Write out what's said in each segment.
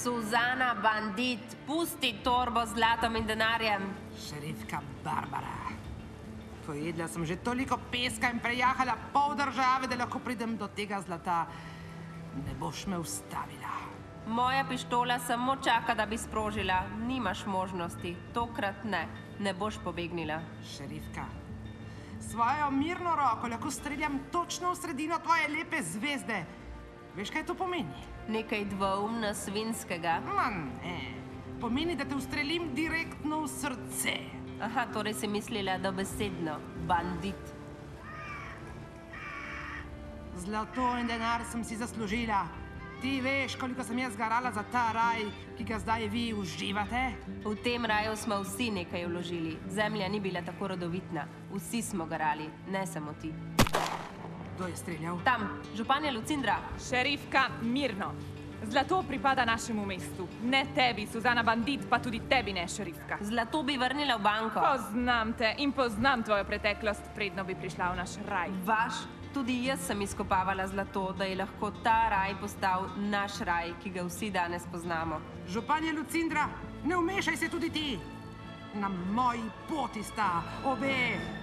Suzana, bandit, pusti torbo z zlatom in denarjem. Šerifka Barbara. Pojedla sem že toliko peska in prejahala pol države, da lahko pridem do tega zlata. Ne boš me ustavila. Moja pištola samo čaka, da bi sprožila. Nimaš možnosti. Tokrat ne. Ne boš pobegnila. Šerifka, svojo mirno roko lahko streljam točno v sredino tvoje lepe zvezde. Veš, kaj to pomeni? Nekaj dvoumno svinskega. Ne. Pomeni, da te ustrelim direktno v srce. Aha, torej si mislila dobesedno. Bandit. Zlato in denar sem si zaslužila. Ti veš, koliko sem jaz garala za ta raj, ki ga zdaj vi uživate? V tem raju smo vsi nekaj vložili. Zemlja ni bila tako rodovitna. Vsi smo garali, ne samo ti. Kdo je streljal? Tam, županja Lucindra. Šerifka, mirno. Zlato pripada našemu mestu. Ne tebi, Suzana bandit, pa tudi tebi ne, šerifka. Zlato bi vrnila v banko. Poznam te in poznam tvojo preteklost, predno bi prišla v naš raj. Vaš? Tudi jaz sem izkopavala zlato, da je lahko ta raj postal naš raj, ki ga vsi danes poznamo. Županja Lucindra, ne vmešaj se tudi ti. Na moji poti sta obe.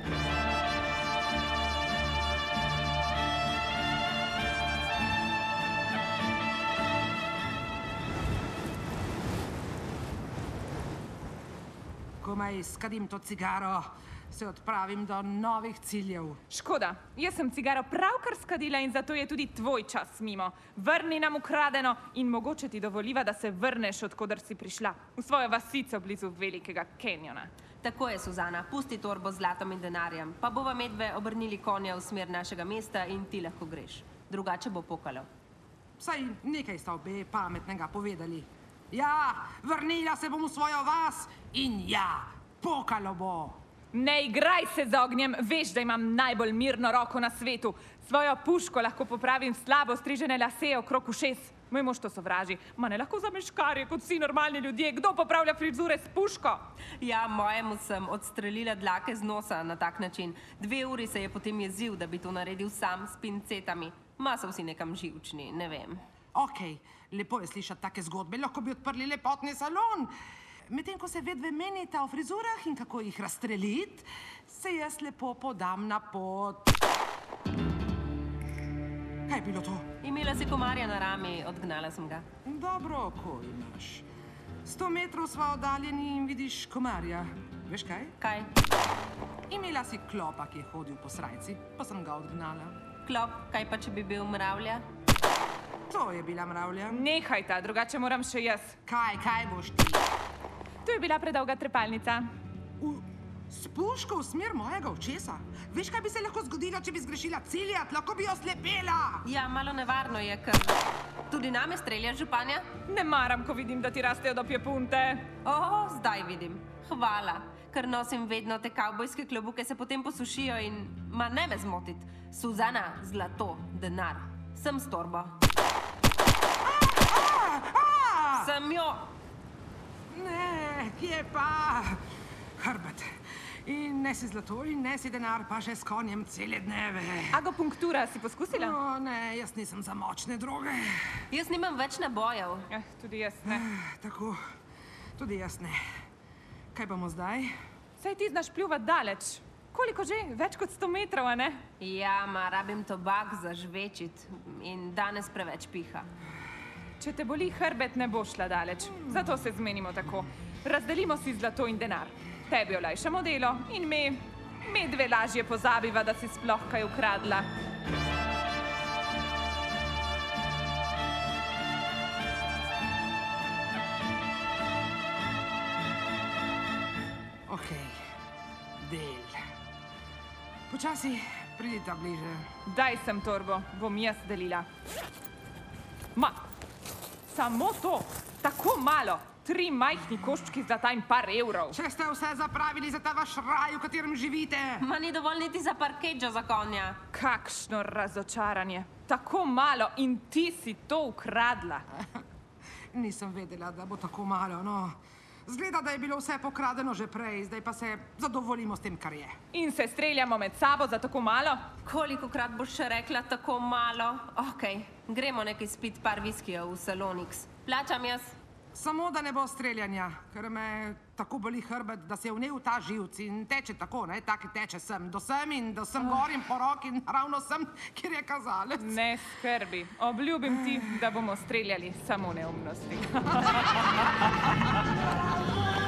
Komaj skadim to cigaro, se odpravim do novih ciljev. Škoda, jaz sem cigaro pravkar skadila in zato je tudi tvoj čas mimo. Vrni nam ukradeno in mogoče ti dovoliva, da se vrneš, odkudar si prišla. V svojo vasico blizu velikega kenjona. Tako je, Suzana, pusti torbo z zlatom in denarjem, pa bova medve obrnili konja v smer našega mesta in ti lahko greš. Drugače bo pokalo. Vsaj nekaj sta obe pametnega povedali. Ja, vrnila se bom v svojo vas in ja, pokalo bo. Ne igraj se z ognjem, veš, da imam najbolj mirno roko na svetu. Svojo puško lahko popravim slabo strižene lase okrog ušes. Moj mož to sovraži. Ma ne lahko zameškarje kot vsi normalni ljudje. Kdo popravlja frizure s puško? Ja, mojemu sem odstrelila dlake z nosa na tak način. 2 uri se je potem jezil, da bi to naredil sam s pincetami. Ma so vsi nekam živčni, ne vem. Okej, lepo je slišati take zgodbe, lahko bi odprli lepotni salon. Medtem ko se vedve menita o frizurah in kako jih razstreliti, se jaz lepo podam na pot. Kaj je bilo to? Imela si komarja na rami, odgnala sem ga. Dobro oko imaš. 100 metrov sva oddaljeni in vidiš komarja. Veš kaj? Kaj? Imela si klopa, ki je hodil po srajci, pa sem ga odgnala. Klop, kaj pa, če bi bil mravlja? To je bila mravlja. Nehaj ta, drugače moram še jaz. Kaj boš ti? To je bila predolga trepalnica. S puško v smer mojega očesa? Veš, kaj bi se lahko zgodilo, če bi zgrešila ciljat? Lahko bi jo slepela. Ja, malo nevarno je, ker tudi name streljaš, županja? Ne maram, ko vidim, da ti rastejo do pjepunte. Zdaj vidim. Hvala, ker nosim vedno te kavbojske klobuke, se potem posušijo in ma ne me zmotit. Suzana, zlato, denar. Sem s torbo. Sem jo. Ne, kje pa? Hrbet. In nesi zlato in nesi denar, pa še s konjem cele dneve. Agopunktura si poskusila? Ne, jaz nisem za močne droge. Jaz nimam več nabojev. Tudi jaz ne. Tako, tudi jaz ne. Kaj bomo zdaj? Saj ti znaš pljuvat daleč. Koliko že? Več kot 100 metrov, a ne? Ja, ma rabim tobak za žvečit in danes preveč piha. Če te boli hrbet, ne bo šla daleč. Zato se zmenimo tako. Razdelimo si zlato in denar. Tebi olajšamo delo in medve lažje pozabiva, da si sploh kaj ukradla. Okej, del. Počasi pridita bliže. Daj sem torbo, bom jaz delila. Ma, samo to, tako malo. 3 majhni koščki zlata in par evrov. Če ste vse zapravili za ta vaš raj, v katerem živite. Ma ni dovolj niti za parkeđo za konja. Kakšno razočaranje. Tako malo in ti si to ukradla. Nisem vedela, da bo tako malo, no. Zgleda, da je bilo vse pokradeno že prej, zdaj pa se zadovoljimo s tem, kar je. In se streljamo med sabo za tako malo? Kolikokrat boš še rekla tako malo? Okej, gremo nekaj spit par viskijev v Salonix. Plačam jaz. Samo da ne bo streljanja, ker me tako boli hrbet, da se je vnel ta živc in teče tako, ne, tako teče sem do sem in do sem gor in po roki in ravno sem, kjer je kazalec. Ne skrbi, obljubim ti, da bomo streljali samo neumnosti.